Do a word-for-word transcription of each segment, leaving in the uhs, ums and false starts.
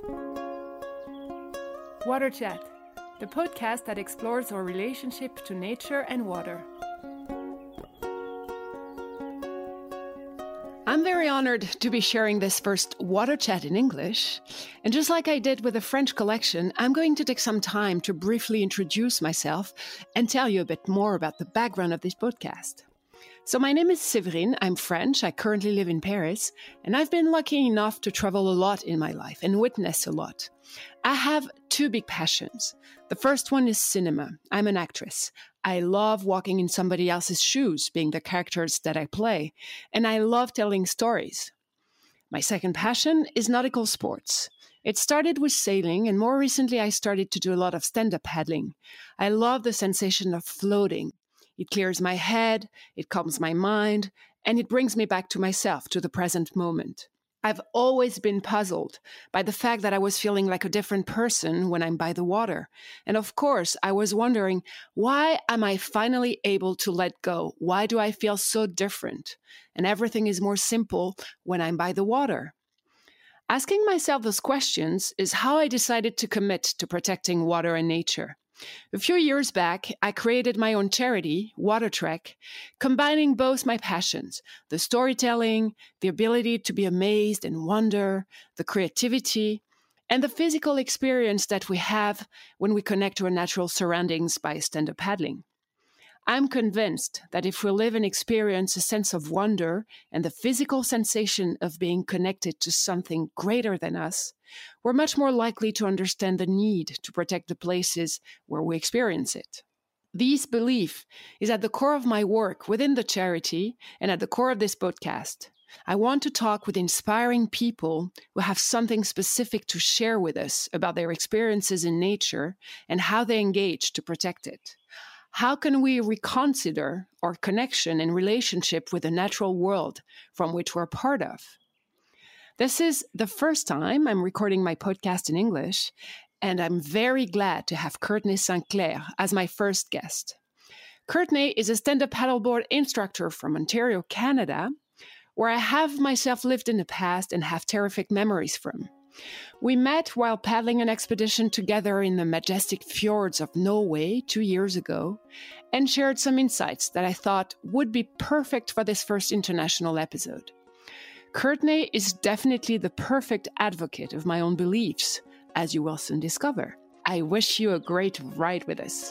Water Chat, the podcast that explores our relationship to nature and water. I'm very honored to be sharing this first Water Chat in English. And just like I did with the French collection, I'm going to take some time to briefly introduce myself and tell you a bit more about the background of this podcast. So my name is Séverine, I'm French, I currently live in Paris, and I've been lucky enough to travel a lot in my life and witness a lot. I have two big passions. The first one is cinema. I'm an actress. I love walking in somebody else's shoes, being the characters that I play, and I love telling stories. My second passion is nautical sports. It started with sailing, and more recently I started to do a lot of stand-up paddling. I love the sensation of floating. It clears my head, it calms my mind, and it brings me back to myself, to the present moment. I've always been puzzled by the fact that I was feeling like a different person when I'm by the water. And of course, I was wondering, why am I finally able to let go? Why do I feel so different? And everything is more simple when I'm by the water. Asking myself those questions is how I decided to commit to protecting water and nature. A few years back, I created my own charity, Water Trek, combining both my passions, the storytelling, the ability to be amazed and wonder, the creativity, and the physical experience that we have when we connect to our natural surroundings by stand-up paddling. I'm convinced that if we live and experience a sense of wonder and the physical sensation of being connected to something greater than us, we're much more likely to understand the need to protect the places where we experience it. This belief is at the core of my work within the charity and at the core of this podcast. I want to talk with inspiring people who have something specific to share with us about their experiences in nature and how they engage to protect it. How can we reconsider our connection and relationship with the natural world from which we're part of? This is the first time I'm recording my podcast in English, and I'm very glad to have Courtney Saint Clair as my first guest. Courtney is a stand-up paddleboard instructor from Ontario, Canada, where I have myself lived in the past and have terrific memories from. We met while paddling an expedition together in the majestic fjords of Norway two years ago and shared some insights that I thought would be perfect for this first international episode. Courtney is definitely the perfect advocate of my own beliefs, as you will soon discover. I wish you a great ride with us.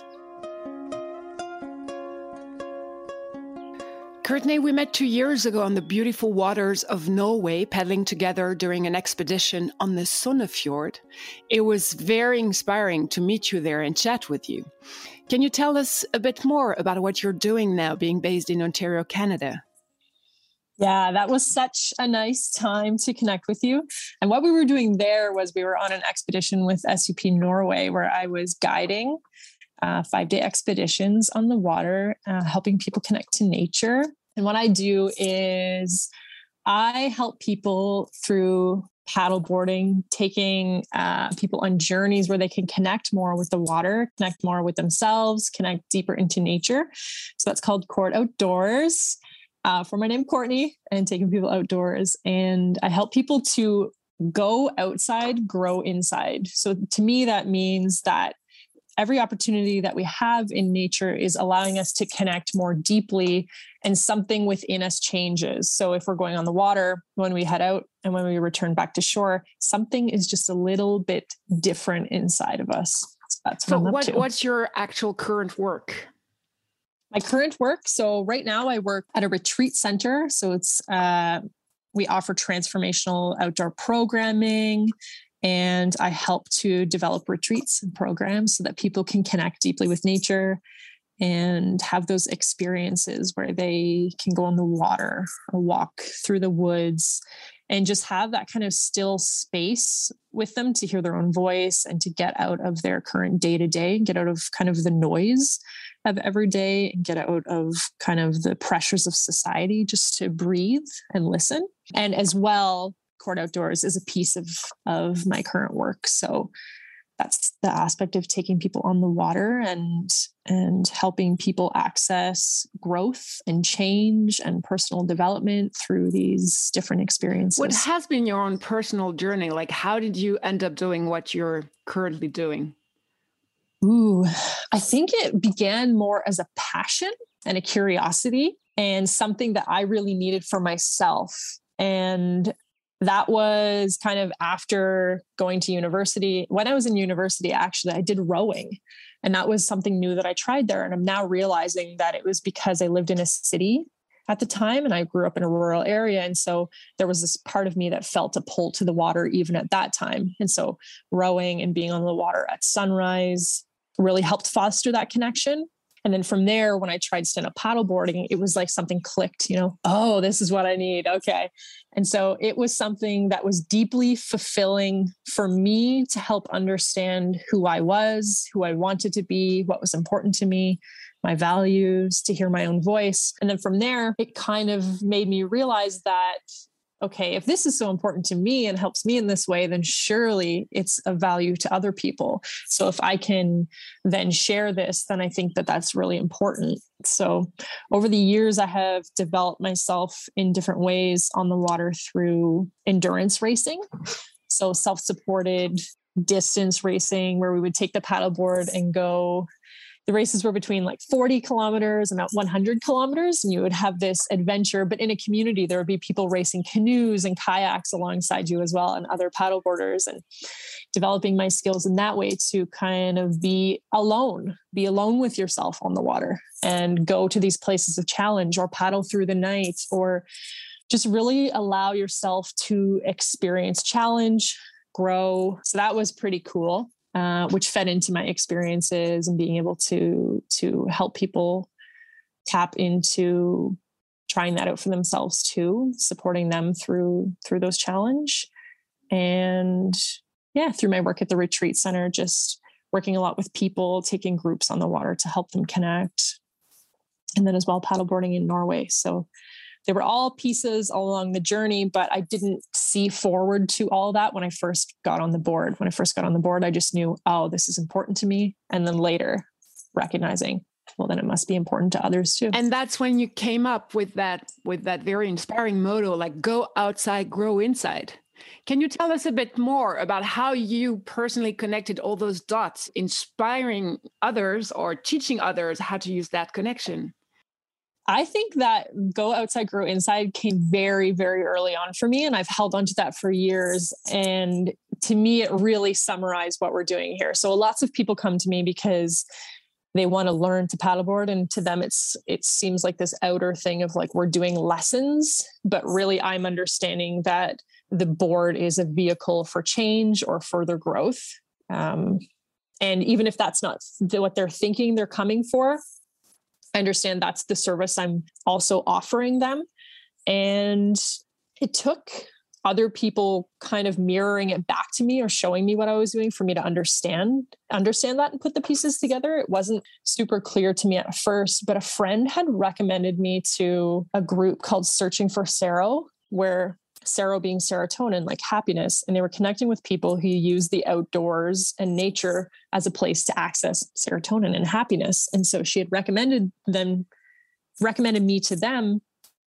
Courtney, we met two years ago on the beautiful waters of Norway, paddling together during an expedition on the Sognefjord. It was very inspiring to meet you there and chat with you. Can you tell us a bit more about what you're doing now, being based in Ontario, Canada? Yeah, that was such a nice time to connect with you. And what we were doing there was we were on an expedition with S U P Norway, where I was guiding Uh, five-day expeditions on the water, uh, helping people connect to nature. And what I do is I help people through paddleboarding, taking uh, people on journeys where they can connect more with the water, connect more with themselves, connect deeper into nature. So that's called Court Outdoors, uh, for my name, Courtney, and taking people outdoors. And I help people to go outside, grow inside. So to me, that means that every opportunity that we have in nature is allowing us to connect more deeply, and something within us changes. So if we're going on the water, when we head out and when we return back to shore, something is just a little bit different inside of us. So that's what so I'm up what, to. What's your actual current work? My current work. So right now I work at a retreat center. So it's, uh, we offer transformational outdoor programming, and I help to develop retreats and programs so that people can connect deeply with nature and have those experiences where they can go on the water or walk through the woods and just have that kind of still space with them to hear their own voice and to get out of their current day to day, get out of kind of the noise of every day and get out of kind of the pressures of society, just to breathe and listen. And as well, Court Outdoors is a piece of, of my current work. So that's the aspect of taking people on the water and and helping people access growth and change and personal development through these different experiences. What has been your own personal journey? Like, how did you end up doing what you're currently doing? Ooh, I think it began more as a passion and a curiosity and something that I really needed for myself. And that was kind of after going to university. When I was in university, actually, I did rowing. And that was something new that I tried there. And I'm now realizing that it was because I lived in a city at the time and I grew up in a rural area. And so there was this part of me that felt a pull to the water even at that time. And so rowing and being on the water at sunrise really helped foster that connection. And then from there, when I tried stand-up paddleboarding, it was like something clicked, you know, oh, this is what I need. Okay. And so it was something that was deeply fulfilling for me to help understand who I was, who I wanted to be, what was important to me, my values, to hear my own voice. And then from there, it kind of made me realize that, okay, if this is so important to me and helps me in this way, then surely it's of value to other people. So if I can then share this, then I think that that's really important. So over the years, I have developed myself in different ways on the water through endurance racing. So self-supported distance racing, where we would take the paddleboard and go. The races were between like forty kilometers and about one hundred kilometers. And you would have this adventure, but in a community, there would be people racing canoes and kayaks alongside you as well, and other paddleboarders, and developing my skills in that way to kind of be alone, be alone with yourself on the water and go to these places of challenge or paddle through the night, or just really allow yourself to experience challenge, grow. So that was pretty cool. Uh, which fed into my experiences and being able to to help people tap into trying that out for themselves too, supporting them through through those challenge. And yeah, through my work at the retreat center, just working a lot with people, taking groups on the water to help them connect. And then as well, paddleboarding in Norway. So they were all pieces all along the journey, but I didn't see forward to all that when I first got on the board. When I first got on the board, I just knew, oh, this is important to me. And then later recognizing, well, then it must be important to others too. And that's when you came up with that, with that very inspiring motto, like go outside, grow inside. Can you tell us a bit more about how you personally connected all those dots, inspiring others or teaching others how to use that connection? I think that go outside, grow inside came very, very early on for me. And I've held on to that for years. And to me, it really summarized what we're doing here. So lots of people come to me because they want to learn to paddleboard. And to them, it's, it seems like this outer thing of like, we're doing lessons, but really I'm understanding that the board is a vehicle for change or further growth. Um, and even if that's not what they're thinking they're coming for, I understand that's the service I'm also offering them. And it took other people kind of mirroring it back to me or showing me what I was doing for me to understand, understand that and put the pieces together. It wasn't super clear to me at first, but a friend had recommended me to a group called Searching for Sero, where Sero being serotonin, like happiness. And they were connecting with people who use the outdoors and nature as a place to access serotonin and happiness. And so she had recommended them, recommended me to them.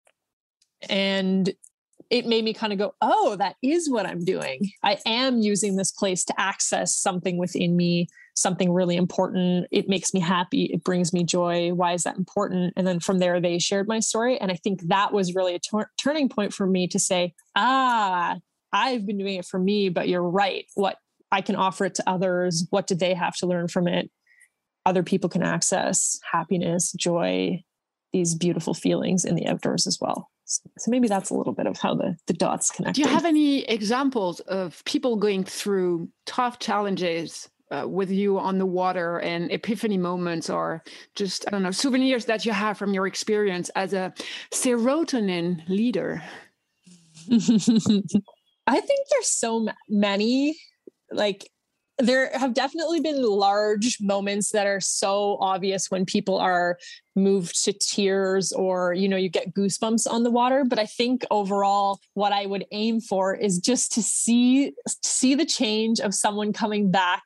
And it made me kind of go, oh, that is what I'm doing. I am using this place to access something within me, something really important. It makes me happy. It brings me joy. Why is that important? And then from there, they shared my story. And I think that was really a tur- turning point for me to say, ah, I've been doing it for me, but you're right. What I can offer it to others. What do they have to learn from it? Other people can access happiness, joy, these beautiful feelings in the outdoors as well. So maybe that's a little bit of how the, the dots connect. Do you have any examples of people going through tough challenges uh, with you on the water and epiphany moments, or just, I don't know, souvenirs that you have from your experience as a serotonin leader? I think there's so many, like, there have definitely been large moments that are so obvious when people are moved to tears or, you know, you get goosebumps on the water. But I think overall, what I would aim for is just to see, see the change of someone coming back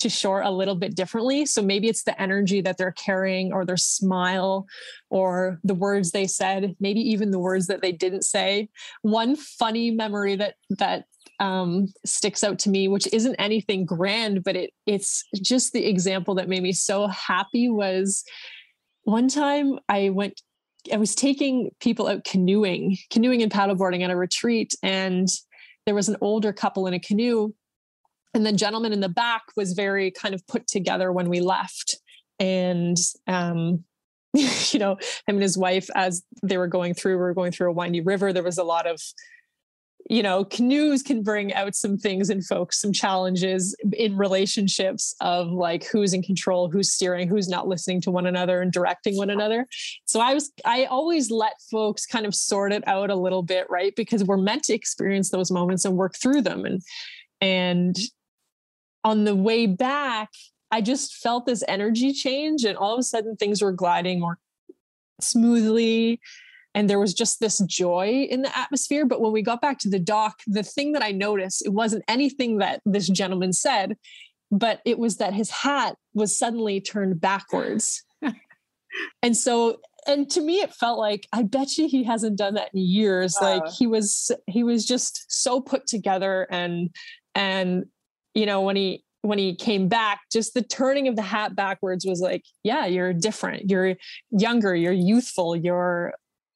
to shore a little bit differently. So maybe it's the energy that they're carrying or their smile or the words they said, maybe even the words that they didn't say. One funny memory that, that um, sticks out to me, which isn't anything grand, but it it's just the example that made me so happy, was one time I went, I was taking people out canoeing, canoeing and paddleboarding at a retreat. And there was an older couple in a canoe. And the gentleman in the back was very kind of put together when we left. And, um, you know, him and his wife, as they were going through, we were going through a windy river. There was a lot of, you know, canoes can bring out some things in folks, some challenges in relationships of like who's in control, who's steering, who's not listening to one another and directing one another. So I was, I always let folks kind of sort it out a little bit, right? Because we're meant to experience those moments and work through them. And, and on the way back, I just felt this energy change, and all of a sudden things were gliding more smoothly. And there was just this joy in the atmosphere. But when we got back to the dock, the thing that I noticed, it wasn't anything that this gentleman said, but it was that his hat was suddenly turned backwards. And so, and to me, it felt like, I bet you he hasn't done that in years. Wow. Like he was, he was just so put together. And, and, you know, when he, when he came back, just the turning of the hat backwards was like, yeah, you're different. You're younger, you're youthful, you're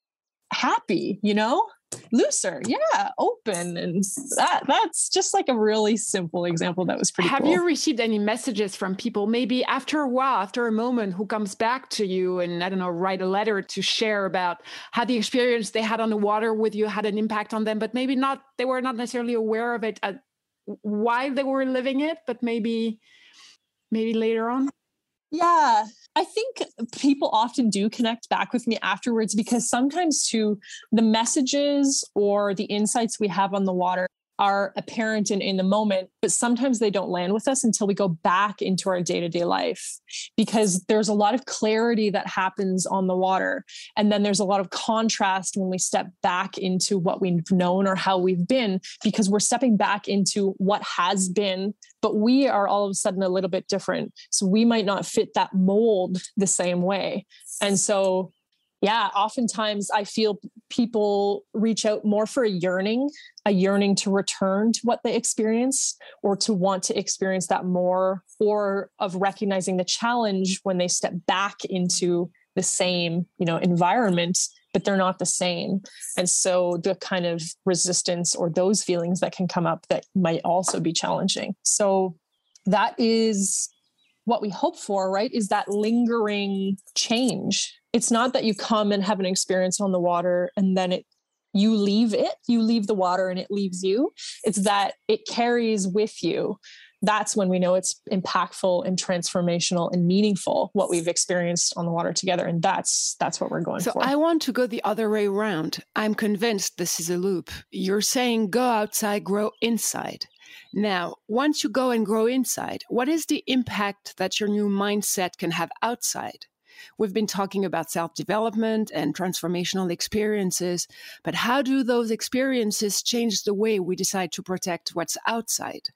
happy, you know, looser, yeah, open. And that that's just like a really simple example that was pretty Have cool. you received any messages from people, maybe after a while, after a moment, who comes back to you and, I don't know, write a letter to share about how the experience they had on the water with you had an impact on them, but maybe not, they were not necessarily aware of it at, why they were living it, but maybe, maybe later on? Yeah, I think people often do connect back with me afterwards, because sometimes too, the messages or the insights we have on the water are apparent in, in the moment, but sometimes they don't land with us until we go back into our day-to-day life, because there's a lot of clarity that happens on the water. And then there's a lot of contrast when we step back into what we've known or how we've been, because we're stepping back into what has been, but we are all of a sudden a little bit different. So we might not fit that mold the same way. And so yeah, oftentimes I feel people reach out more for a yearning, a yearning to return to what they experience, or to want to experience that more, or of recognizing the challenge when they step back into the same, you know, environment, but they're not the same. And so the kind of resistance or those feelings that can come up that might also be challenging. So that is what we hope for, right? Is that lingering change. It's not that you come and have an experience on the water and then it, you leave it, you leave the water and it leaves you. It's that it carries with you. That's when we know it's impactful and transformational and meaningful, what we've experienced on the water together. And that's, that's what we're going so for. I want to go the other way around. I'm convinced this is a loop. You're saying go outside, grow inside. Now, once you go and grow inside, what is the impact that your new mindset can have outside? We've been talking about self-development and transformational experiences, but how do those experiences change the way we decide to protect what's outside?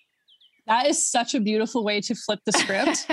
That is such a beautiful way to flip the script.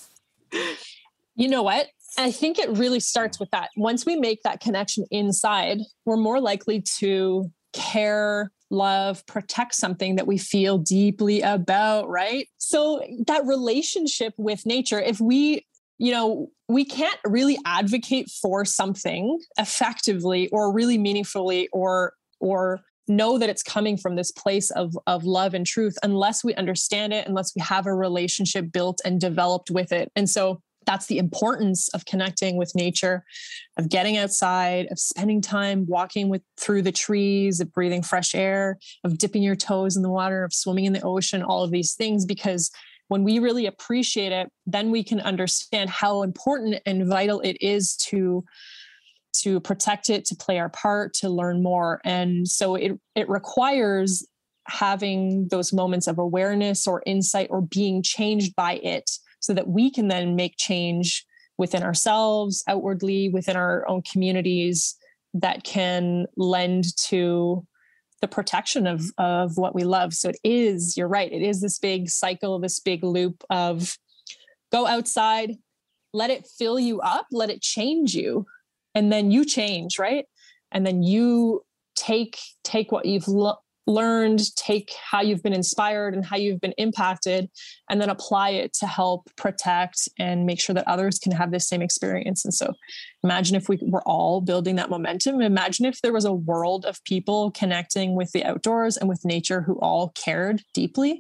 You know what? I think it really starts with that. Once we make that connection inside, we're more likely to care, love, protect something that we feel deeply about, right? So that relationship with nature, if we, you know, we can't really advocate for something effectively or really meaningfully or, or know that it's coming from this place of, of love and truth unless we understand it, unless we have a relationship built and developed with it. And so that's the importance of connecting with nature, of getting outside, of spending time walking with through the trees, of breathing fresh air, of dipping your toes in the water, of swimming in the ocean, all of these things. Because when we really appreciate it, then we can understand how important and vital it is to, to protect it, to play our part, to learn more. And so it, it requires having those moments of awareness or insight or being changed by it, so that we can then make change within ourselves, outwardly, within our own communities, that can lend to the protection of, of what we love. So it is, you're right. It is this big cycle, this big loop of go outside, let it fill you up, let it change you. And then you change, right? And then you take, take what you've lo- learned, take how you've been inspired and how you've been impacted, and then apply it to help protect and make sure that others can have the same experience. And so imagine if we were all building that momentum. Imagine if there was a world of people connecting with the outdoors and with nature who all cared deeply.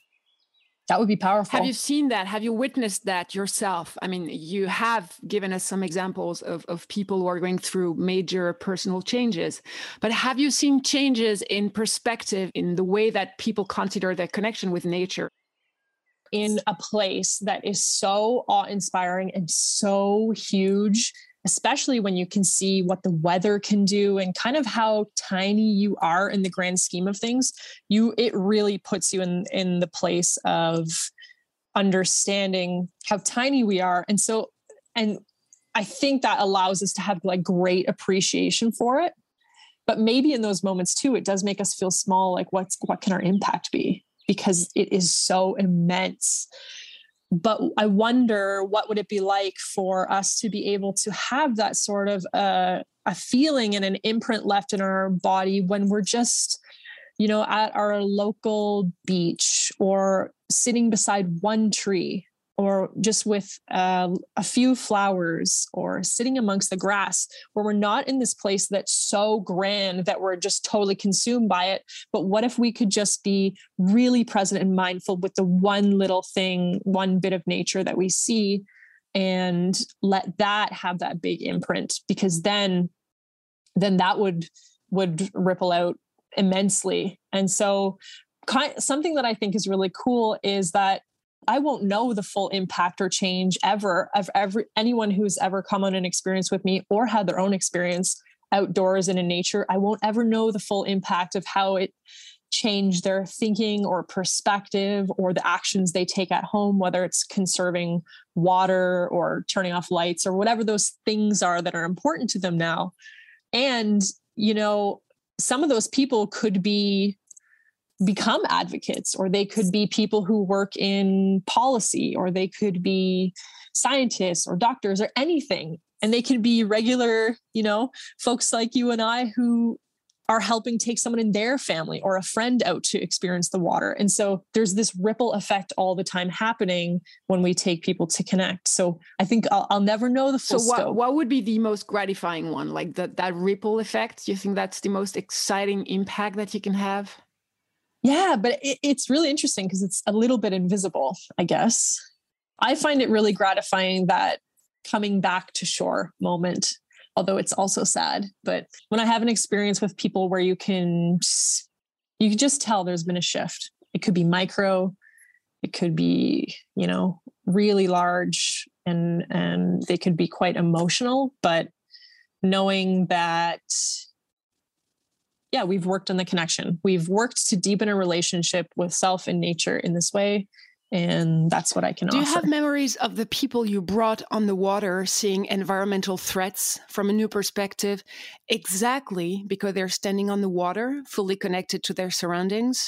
That would be powerful. Have you seen that? Have you witnessed that yourself? I mean, you have given us some examples of, of people who are going through major personal changes, but have you seen changes in perspective in the way that people consider their connection with nature? In a place that is so awe-inspiring and so huge, especially when you can see what the weather can do and kind of how tiny you are in the grand scheme of things, you it really puts you in, in the place of understanding how tiny we are. And so, and I think that allows us to have like great appreciation for it. But maybe in those moments too, it does make us feel small. Like what's, what can our impact be? Because it is so immense. But I wonder what would it be like for us to be able to have that sort of uh, a feeling and an imprint left in our body when we're just, you know, at our local beach or sitting beside one tree or just with uh, a few flowers or sitting amongst the grass, where we're not in this place that's so grand that we're just totally consumed by it. But what if we could just be really present and mindful with the one little thing, one bit of nature that we see, and let that have that big imprint? Because then, then that would, would ripple out immensely. And so kind, something that I think is really cool is that I won't know the full impact or change ever of every anyone who's ever come on an experience with me or had their own experience outdoors and in nature. I won't ever know the full impact of how it changed their thinking or perspective or the actions they take at home, whether it's conserving water or turning off lights or whatever those things are that are important to them now. And, you know, some of those people could be become advocates, or they could be people who work in policy, or they could be scientists or doctors or anything. And they could be regular, you know, folks like you and I who are helping take someone in their family or a friend out to experience the water. And so there's this ripple effect all the time happening when we take people to connect. So I think I'll, I'll never know the full so what, scope. What would be the most gratifying one? Like that, that ripple effect? Do you think that's the most exciting impact that you can have? Yeah, but it, it's really interesting because it's a little bit invisible, I guess. I find it really gratifying that coming back to shore moment, although it's also sad. But when I have an experience with people where you can, you can just tell there's been a shift. It could be micro, it could be, you know, really large, and, and they could be quite emotional, but knowing that, yeah, we've worked on the connection. We've worked to deepen a relationship with self and nature in this way. And that's what I can Do offer. you have memories of the people you brought on the water seeing environmental threats from a new perspective, exactly because they're standing on the water, fully connected to their surroundings?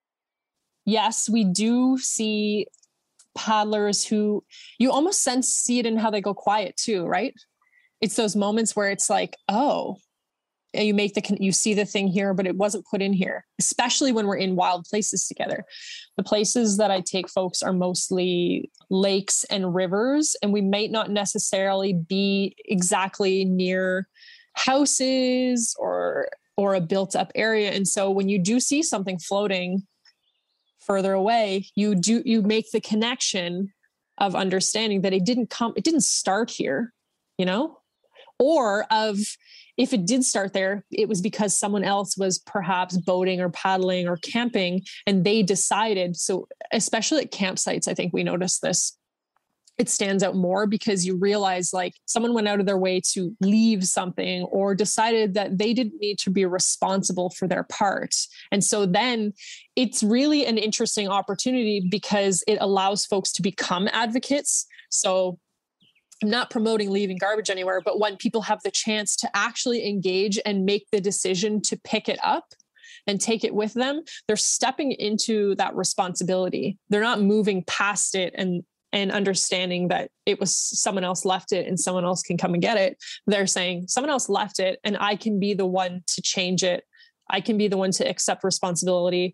Yes, we do see paddlers who you almost sense, see it in how they go quiet too, right? It's those moments where it's like, oh, you make the, you see the thing here, but it wasn't put in here, especially when we're in wild places together. The places that I take folks are mostly lakes and rivers, and we might not necessarily be exactly near houses or, or a built up area. And so when you do see something floating further away, you do, you make the connection of understanding that it didn't come, it didn't start here, you know, or of, if it did start there, it was because someone else was perhaps boating or paddling or camping, and they decided. So especially at campsites, I think we notice this. It stands out more because you realize like someone went out of their way to leave something or decided that they didn't need to be responsible for their part. And so then it's really an interesting opportunity because it allows folks to become advocates. So I'm not promoting leaving garbage anywhere, but when people have the chance to actually engage and make the decision to pick it up, and take it with them, they're stepping into that responsibility. They're not moving past it and and understanding that it was someone else left it and someone else can come and get it. They're saying someone else left it and I can be the one to change it. I can be the one to accept responsibility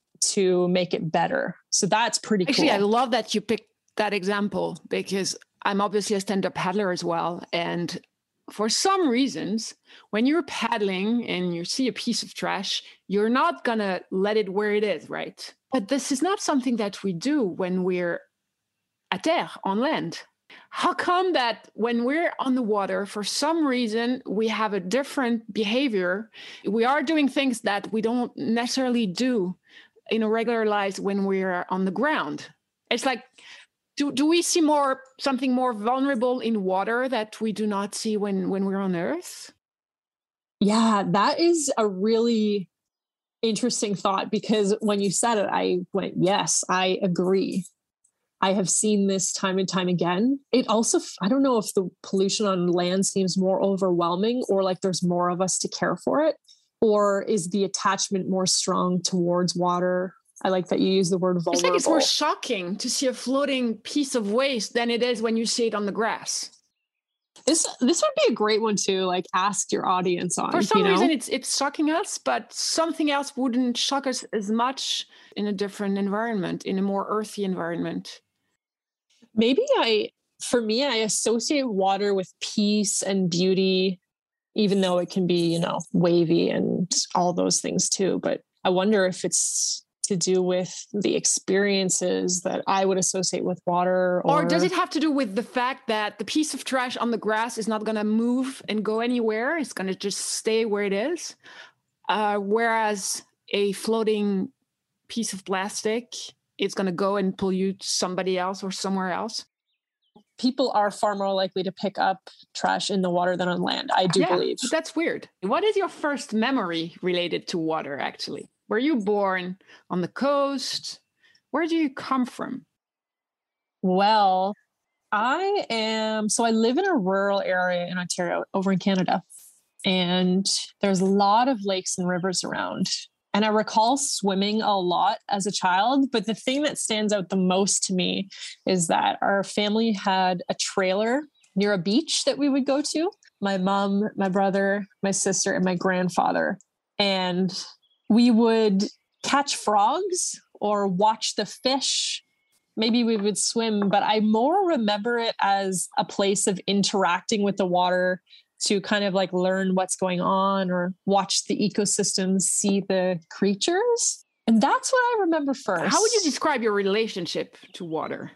to make it better. So that's pretty cool. Actually, I love that you picked that example because I'm obviously a stand-up paddler as well. And for some reasons, when you're paddling and you see a piece of trash, you're not going to let it where it is, right? But this is not something that we do when we're à terre, on land. How come that when we're on the water, for some reason, we have a different behavior? We are doing things that we don't necessarily do in our regular lives when we're on the ground. It's like, do, do we see more something more vulnerable in water that we do not see when, when we're on Earth? Yeah, that is a really interesting thought because when you said it, I went, yes, I agree. I have seen this time and time again. It also, I don't know if the pollution on land seems more overwhelming or like there's more of us to care for it, or is the attachment more strong towards water? I like that you use the word vulnerable. It's like it's more shocking to see a floating piece of waste than it is when you see it on the grass. This this would be a great one to like ask your audience on. For some you know? reason, it's it's shocking us, but something else wouldn't shock us as much in a different environment, in a more earthy environment. Maybe I, for me, I associate water with peace and beauty, even though it can be, you know, wavy and all those things too. But I wonder if it's to do with the experiences that I would associate with water. Or, or does it have to do with the fact that the piece of trash on the grass is not going to move and go anywhere? It's going to just stay where it is. Uh, whereas a floating piece of plastic, it's going to go and pollute somebody else or somewhere else. People are far more likely to pick up trash in the water than on land, I do yeah, believe. But that's weird. What is your first memory related to water, actually? Were you born on the coast? Where do you come from? Well, I am, so I live in a rural area in Ontario, over in Canada, and there's a lot of lakes and rivers around. And I recall swimming a lot as a child, but the thing that stands out the most to me is that our family had a trailer near a beach that we would go to. My mom, my brother, my sister, and my grandfather. And we would catch frogs or watch the fish. Maybe we would swim, but I more remember it as a place of interacting with the water to kind of like learn what's going on or watch the ecosystems, see the creatures. And that's what I remember first. How would you describe your relationship to water?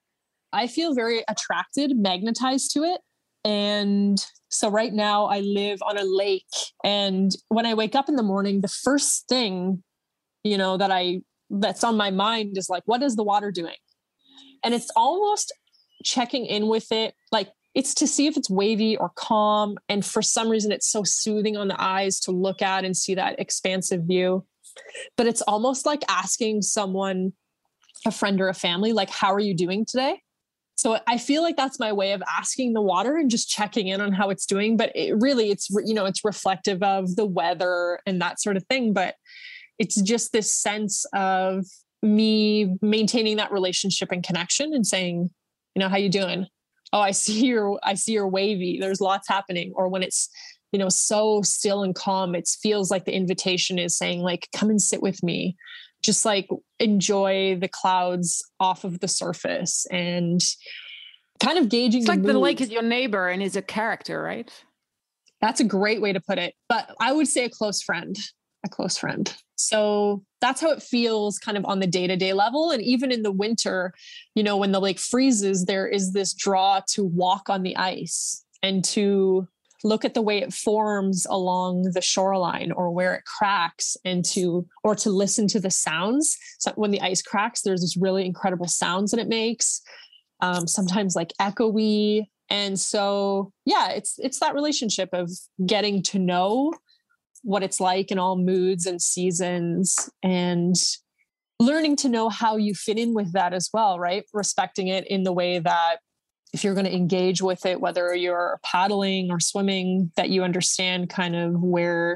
I feel very attracted, magnetized to it. And so right now I live on a lake. And when I wake up in the morning, the first thing, you know, that I, that's on my mind is like, what is the water doing? And it's almost checking in with it. Like, it's to see if it's wavy or calm. And for some reason, it's so soothing on the eyes to look at and see that expansive view. But it's almost like asking someone, a friend or a family, like, how are you doing today? So I feel like that's my way of asking the water and just checking in on how it's doing. But it really, it's, you know, it's reflective of the weather and that sort of thing. But it's just this sense of me maintaining that relationship and connection and saying, you know, how you doing? Oh, I see you're, I see you're wavy. There's lots happening. Or when it's, you know, so still and calm, it feels like the invitation is saying like, come and sit with me. Just like enjoy the clouds off of the surface and kind of gauging. It's the like mood. The lake is your neighbor and is a character, right? That's a great way to put it. But I would say a close friend, a close friend. So that's how it feels kind of on the day-to-day level. And even in the winter, you know, when the lake freezes, there is this draw to walk on the ice and to look at the way it forms along the shoreline or where it cracks and to, or to listen to the sounds. So when the ice cracks, there's this really incredible sounds that it makes. Um, sometimes like echoey. And so, yeah, it's, it's that relationship of getting to know what it's like in all moods and seasons and learning to know how you fit in with that as well, right? Respecting it in the way that if you're going to engage with it, whether you're paddling or swimming, that you understand kind of where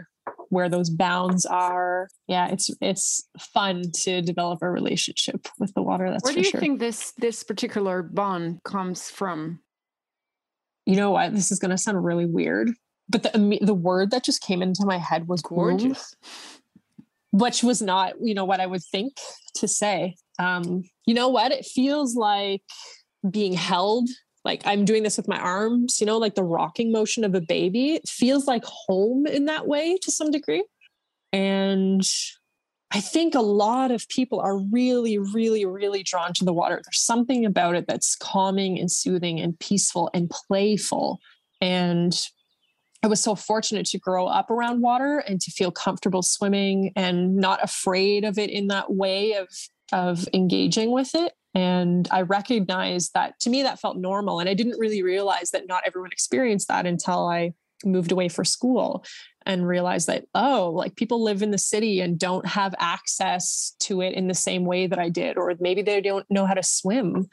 where those bounds are. Yeah, it's it's fun to develop a relationship with the water. That's Where for do you sure. think this this particular bond comes from? You know what? This is going to sound really weird, but the the word that just came into my head was Gorgeous, womb, which was not, you know, what I would think to say. Um, you know what? It feels like being held. Like I'm doing this with my arms, you know, like the rocking motion of a baby. It feels like home in that way to some degree. And I think a lot of people are really, really, really drawn to the water. There's something about it that's calming and soothing and peaceful and playful. And I was so fortunate to grow up around water and to feel comfortable swimming and not afraid of it in that way of, of engaging with it. And I recognized that to me, that felt normal. And I didn't really realize that not everyone experienced that until I moved away for school and realized that, oh, like people live in the city and don't have access to it in the same way that I did, or maybe they don't know how to swim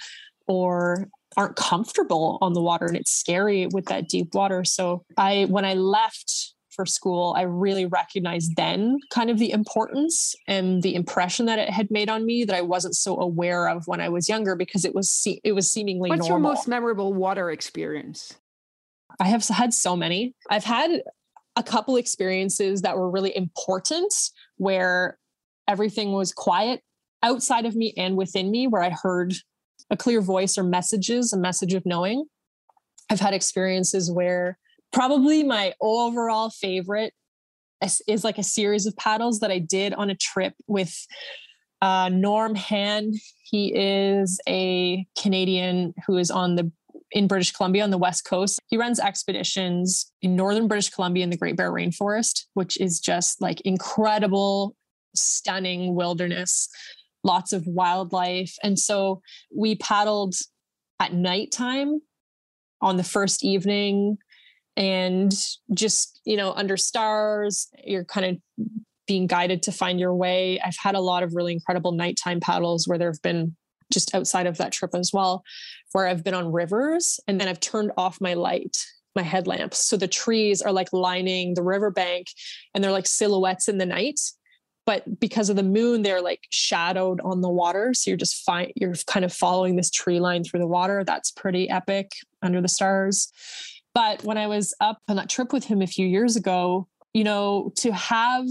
or aren't comfortable on the water. And it's scary with that deep water. So I, when I left for school, I really recognized then kind of the importance and the impression that it had made on me that I wasn't so aware of when I was younger, because it was, it was seemingly What's normal. your most memorable water experience? I have had so many. I've had a couple experiences that were really important where everything was quiet outside of me and within me, where I heard a clear voice or messages, a message of knowing. I've had experiences where probably my overall favorite is, is like a series of paddles that I did on a trip with uh, Norm Hand. He is a Canadian who is on the in British Columbia on the West Coast. He runs expeditions in northern British Columbia in the Great Bear Rainforest, which is just like incredible, stunning wilderness, lots of wildlife. And so we paddled at nighttime on the first evening and just, you know, under stars, you're kind of being guided to find your way. I've had a lot of really incredible nighttime paddles where there have been just outside of that trip as well, where I've been on rivers and then I've turned off my light, my headlamps. So the trees are like lining the riverbank and they're like silhouettes in the night. But because of the moon, they're like shadowed on the water. So you're just fine. You're kind of following this tree line through the water. That's pretty epic under the stars. But when I was up on that trip with him a few years ago, you know, to have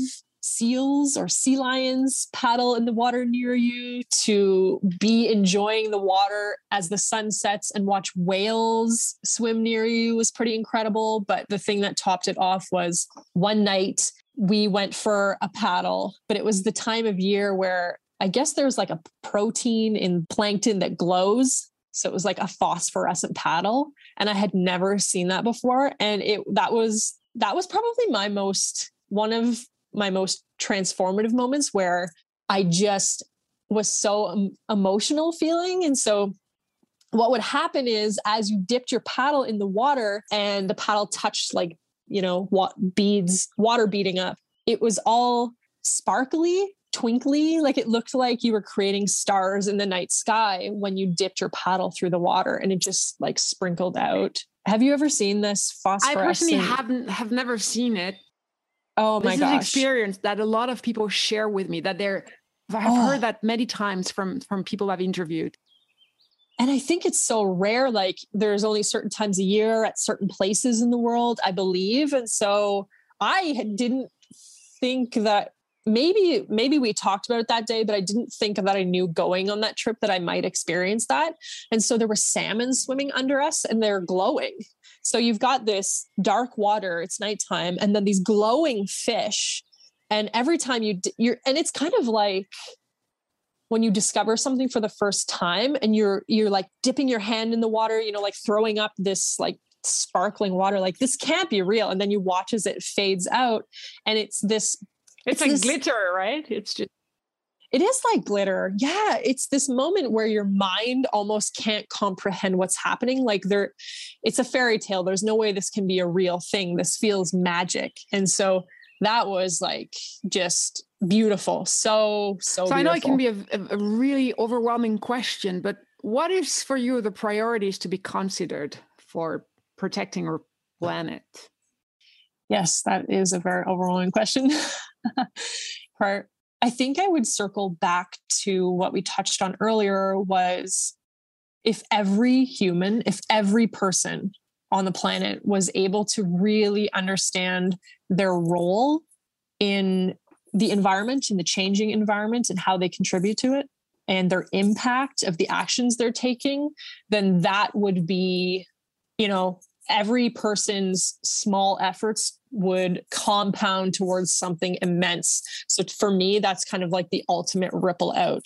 seals or sea lions paddle in the water near you, to be enjoying the water as the sun sets and watch whales swim near you was pretty incredible. But the thing that topped it off was one night we went for a paddle, but it was the time of year where I guess there's like a protein in plankton that glows. So it was like a phosphorescent paddle. And I had never seen that before. And it, that was, that was probably my most, one of my most transformative moments where I just was so um, emotional feeling. And so what would happen is as you dipped your paddle in the water and the paddle touched like, you know, what beads, water beating up, it was all sparkly, twinkly. Like it looked like you were creating stars in the night sky when you dipped your paddle through the water and it just like sprinkled out. Have you ever seen this phosphorescent? I personally haven't, have never seen it. Oh my gosh. This is an experience that a lot of people share with me, that they're, I've oh. heard that many times from, from people I've interviewed. And I think it's so rare. Like there's only certain times a year at certain places in the world, I believe. And so I didn't think that maybe, maybe we talked about it that day, but I didn't think that I knew going on that trip that I might experience that. And so there were salmon swimming under us and they're glowing. So you've got this dark water, it's nighttime, and then these glowing fish. And every time you, you're, and it's kind of like when you discover something for the first time and you're, you're like dipping your hand in the water, you know, like throwing up this like sparkling water, like this can't be real. And then you watch as it fades out and it's this, it's, it's like this, glitter, right? It's just, it is like glitter. Yeah. It's this moment where your mind almost can't comprehend what's happening. Like there, it's a fairy tale. There's no way this can be a real thing. This feels magic. And so that was like just beautiful. So, so, so beautiful. I know it can be a, a really overwhelming question, but what is for you the priorities to be considered for protecting our planet? Yes, that is a very overwhelming question. Part, I think I would circle back to what we touched on earlier was if every human, if every person on the planet was able to really understand their role in the environment, in the changing environment and how they contribute to it and their impact of the actions they're taking, then that would be, you know, every person's small efforts would compound towards something immense. So for me, that's kind of like the ultimate ripple out.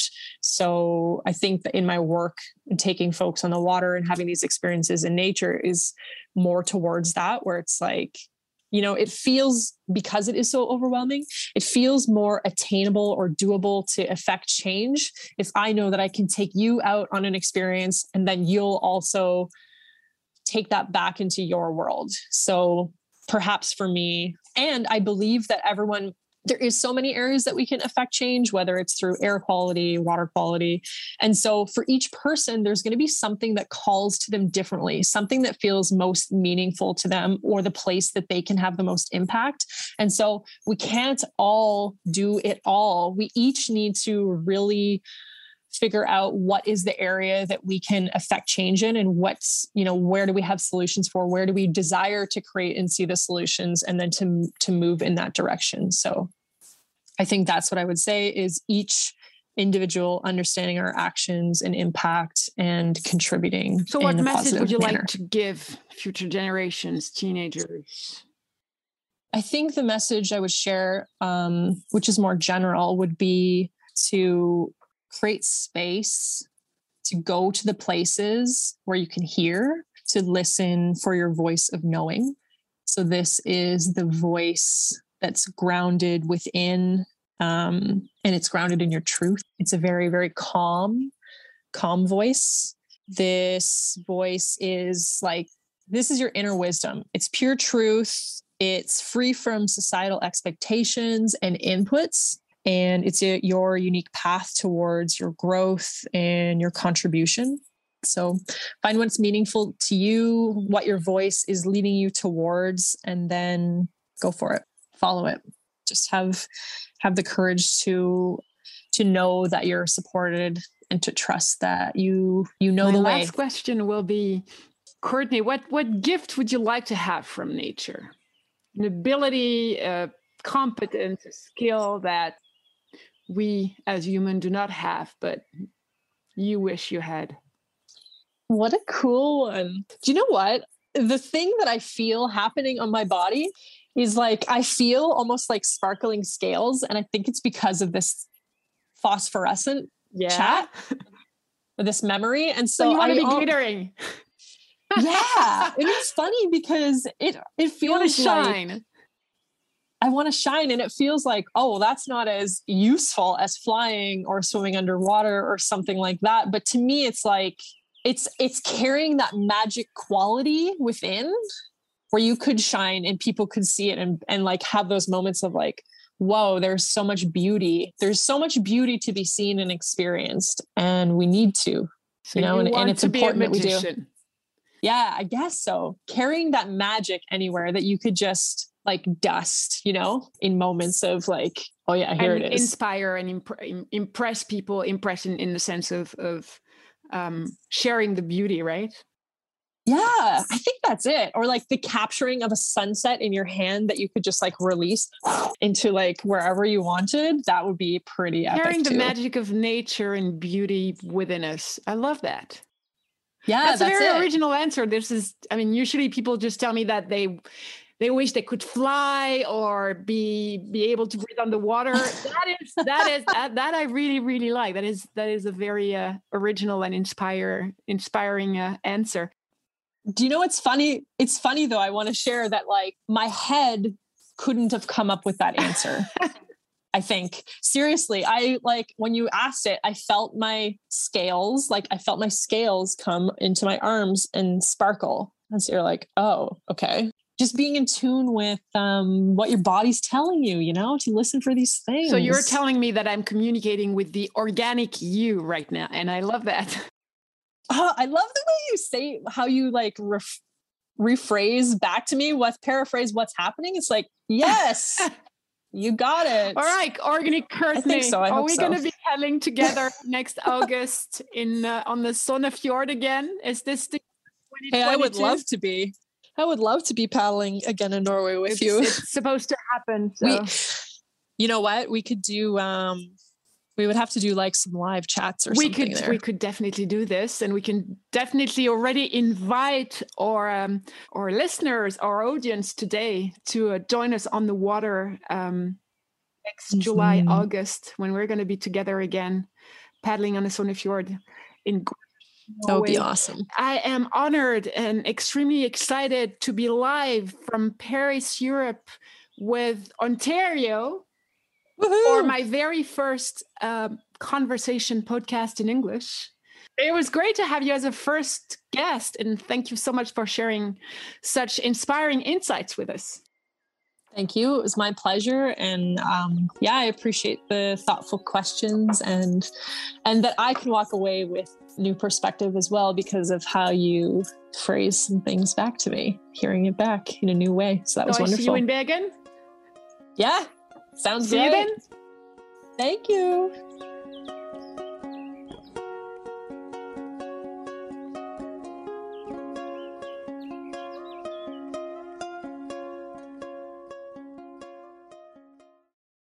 So I think that in my work, taking folks on the water and having these experiences in nature is more towards that, where it's like, you know, it feels, because it is so overwhelming, it feels more attainable or doable to affect change if I know that I can take you out on an experience and then you'll also take that back into your world. So perhaps for me, and I believe that everyone, there is so many areas that we can affect change, whether it's through air quality, water quality. And so for each person, there's going to be something that calls to them differently, something that feels most meaningful to them or the place that they can have the most impact. And so we can't all do it all. We each need to really figure out what is the area that we can affect change in and what's, you know, where do we have solutions for, where do we desire to create and see the solutions, and then to, to move in that direction. So I think that's what I would say is each individual understanding our actions and impact and contributing. So what message would you manner. like to give future generations, teenagers? I think the message I would share, um, which is more general, would be to create space to go to the places where you can hear, to listen for your voice of knowing. So this is the voice that's grounded within, um, and it's grounded in your truth. It's a very, very calm, calm voice. This voice is like, this is your inner wisdom. It's pure truth. It's free from societal expectations and inputs. And it's a, your unique path towards your growth and your contribution. So find what's meaningful to you, what your voice is leading you towards, and then go for it. Follow it. Just have have the courage to to know that you're supported and to trust that you you know My the way. My last question will be, Courtney, what what gift would you like to have from nature? An ability, a competence, a skill that we as humans do not have, but you wish you had? What a cool one. Do you know what? The thing that I feel happening on my body is like, I feel almost like sparkling scales. And I think it's because of this phosphorescent yeah. chat, this memory. And so, so you want I to be al- glittering. Yeah. And it's funny because it, it feels you want to shine. Like I want to shine. And it feels like, oh, well, that's not as useful as flying or swimming underwater or something like that. But to me, it's like, it's, it's carrying that magic quality within where you could shine and people could see it and, and like have those moments of like, whoa, there's so much beauty. There's so much beauty to be seen and experienced. And we need to, so you know, you and, and it's to important be a that magician. we do. Yeah, I guess so. Carrying that magic anywhere that you could just like dust, you know, in moments of like, oh yeah, here and it is. Inspire and imp- impress people, impress in, in the sense of, of um, sharing the beauty, right? Yeah, I think that's it. Or like the capturing of a sunset in your hand that you could just like release into like wherever you wanted. That would be pretty epic. Sharing the too. magic of nature and beauty within us. I love that. Yeah, that's, that's a very it. original answer. This is, I mean, usually people just tell me that they they wish they could fly or be be able to breathe underwater. That is that is that, that I really really like. That is that is a very uh, original and inspire inspiring uh, answer. Do you know what's funny? It's funny though. I want to share that like my head couldn't have come up with that answer. I think seriously, I like when you asked it, I felt my scales, like I felt my scales come into my arms and sparkle. And so you're like, oh, okay. Just being in tune with um, what your body's telling you, you know, to listen for these things. So you're telling me that I'm communicating with the organic you right now. And I love that. Oh, I love the way you say how you like, ref- rephrase back to me, what's paraphrase what's happening, it's like, yes, you got it. All right, Organic Courtney. I think so. I Are hope we so. going to be paddling together next August in uh, on the Sonnefjord again? Is this the twenty twenty-two? Hey, I would love to be. I would love to be paddling again in Norway with it's, you. It's supposed to happen. So. We, you know what? We could do. Um, we would have to do like some live chats or we something. Could there. we could definitely do this, and we can definitely already invite our um, our listeners, our audience today to uh, join us on the water um, next mm-hmm. July, August, when we're going to be together again, paddling on the Sonnefjord in. That would be awesome. I am honored and extremely excited to be live from Paris, Europe, with Ontario Woohoo! For my very first uh, conversation podcast in English. It was great to have you as a first guest, and thank you so much for sharing such inspiring insights with us. Thank you. It was my pleasure. And um, yeah, I appreciate the thoughtful questions and and that I can walk away with new perspective as well because of how you phrase some things back to me, hearing it back in a new way. So that was so wonderful. I see you in Bergen? Yeah. Sounds see great. You then? Thank you.